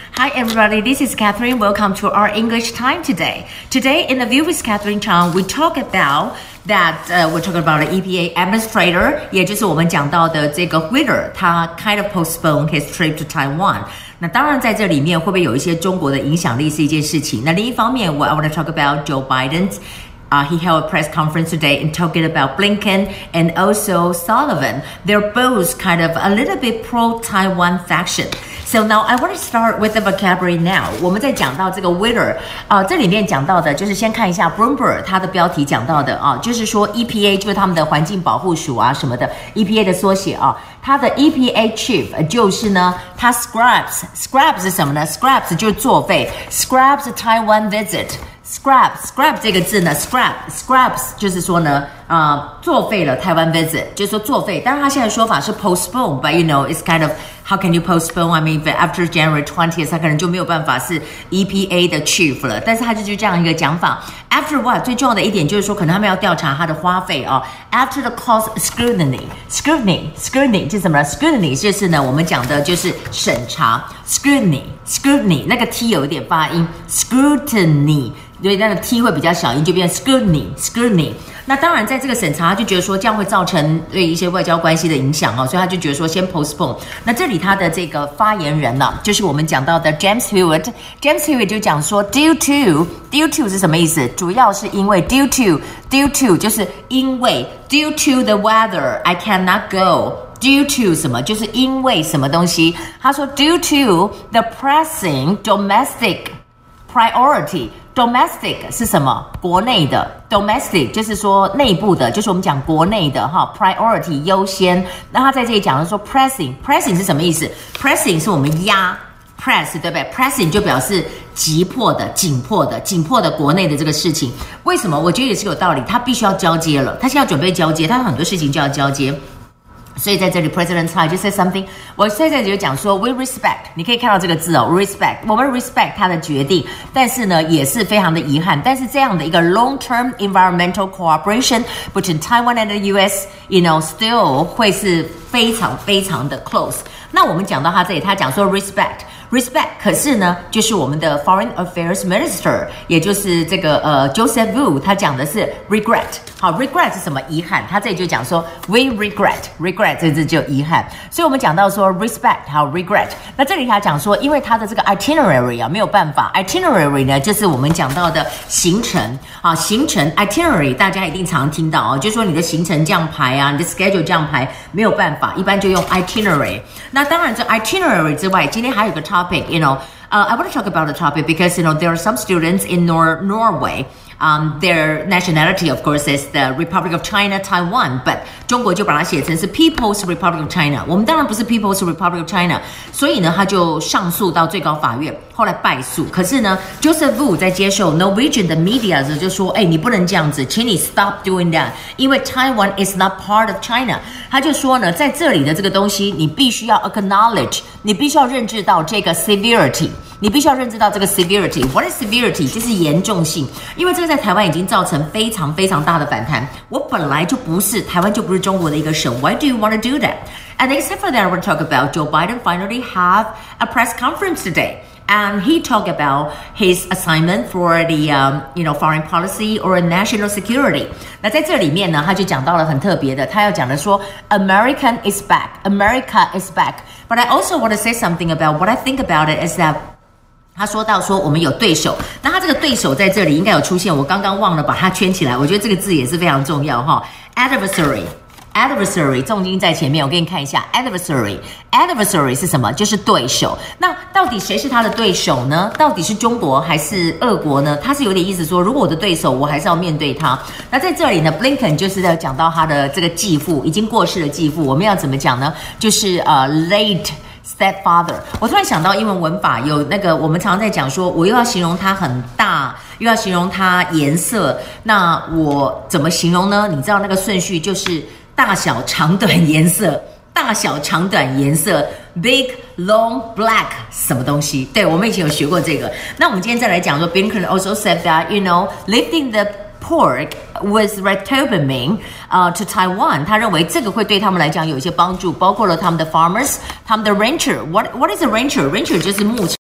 Hi everybody, this is Catherine. Welcome to our English time today. Today in the View with Catherine Chang, we talk about we're talking about the EPA administrator, 也就是我们讲到的这个 Whitler, 他 kind of postponed his trip to Taiwan. 那当然在这里面会不会有一些中国的影响力是一件事情。那另一方面 I want to talk about Joe Biden's.He held a press conference today and talking about Blinken and also Sullivan. They're both kind of a little bit pro-Taiwan faction. So now I want to start with the vocabulary now. 我们在讲到这个 Whitler 这里面讲到的就是先看一下 Bloomberg 它的标题讲到的就是说 EPA 就是他们的环境保护署什么的 EPA 的缩写它的 EPA chief 就是呢它 scraps 是什么呢 scraps 就是作废 scraps Taiwan visit.Scrap 这个字呢 scraps 就是说呢作废了台湾 visit 就是说作废当然他现在说法是 postpone but you know it's kind of how can you postpone I mean after January 20th 他可能就没有办法是 EPA 的 chief 了但是他就这样一个讲法 after what 最重要的一点就是说可能他们要调查他的花费after the cost scrutiny 是什么 scrutiny 就是呢我们讲的就是审查 scrutiny 那个 T 有一点发音 scrutiny所以那个 T 会比较小音就变 scrutiny 那当然在这个审查他就觉得说这样会造成对一些外交关系的影响所以他就觉得说先 postpone 那这里他的这个发言人呢就是我们讲到的 James Hewitt 就讲说 due to 是什么意思主要是因为 due to 就是因为 due to the weather I cannot go due to 什么就是因为什么东西他说 due to the pressing domestic priority Domestic 是什么？国内的 Domestic 就是说内部的，就是我们讲国内的Priority 优先。那他在这里讲的说 Pressing 是什么意思 ？Pressing 是我们压 Press 对不对 ？Pressing 就表示急迫的、紧迫的国内的这个事情。为什么？我觉得也是有道理，他必须要交接了，他现在要准备交接，他有很多事情就要交接。所以在这里 President Tsai 就 say something 我在这里就讲说 we respect 你可以看到这个字respect 我们 respect 他的决定但是呢也是非常的遗憾但是这样的一个 long-term environmental cooperation between Taiwan and the US you know still 会是非常非常的 close 那我们讲到他这里他讲说 respect 可是呢就是我们的 Foreign Affairs Minister 也就是这个Joseph Wu 他讲的是 regret 好 regret 是什么遗憾他这里就讲说 we regret 这字就遗憾所以我们讲到说 respect 好 regret 那这里他讲说因为他的这个 itinerary 没有办法 itinerary 呢就是我们讲到的行程行程 itinerary 大家一定常听到就是说你的行程这样排你的 schedule 这样排没有办法一般就用 itinerary 那当然这 itinerary 之外今天还有个topic you know I want to talk about the topic because you know there are some students in Norway their nationality of course is the Republic of China Taiwan but 中国就把它写成是 People's Republic of China 我们当然不是 People's Republic of China 所以呢他就上诉到最高法院后来败诉可是呢 Joseph Wu 在接受 Norwegian 的 media 的时候就说你不能这样子请你 stop doing that 因为 Taiwan is not part of China 他就说呢在这里的这个东西你必须要 acknowledge 你必须要认知到这个 severity 你必须要认知到这个 severity What is severity 就是严重性因为这个在台湾已经造成非常非常大的反弹我本来就不是台湾就不是中国的一个省 Why do you want to do that? And except for that I want to talk about Joe Biden finally have a press conference today and he talked about his assignment for the you know foreign policy or national security 那在这里面呢他就讲到了很特别的他要讲的说 America is back but I also want to say something about what I think about it is that他说到说我们有对手那他这个对手在这里应该有出现我刚刚忘了把它圈起来我觉得这个字也是非常重要Adversary 重音在前面我给你看一下 Adversary 是什么就是对手那到底谁是他的对手呢到底是中国还是俄国呢他是有点意思说如果我的对手我还是要面对他那在这里呢 Blinken 就是在讲到他的这个继父已经过世的继父我们要怎么讲呢就是late stepfather 我突然想到英文文法有那个我们常常在讲说我又要形容它很大又要形容它颜色那我怎么形容呢你知道那个顺序就是大小长短颜色 big long black 什么东西对我们以前有学过这个那我们今天再来讲说 Blinken also said that you know lifting the pork with retobermine to Taiwan 他认为这个会对他们来讲有一些帮助包括了他们的 farmers 他们的 rancher what is a rancher 就是牧场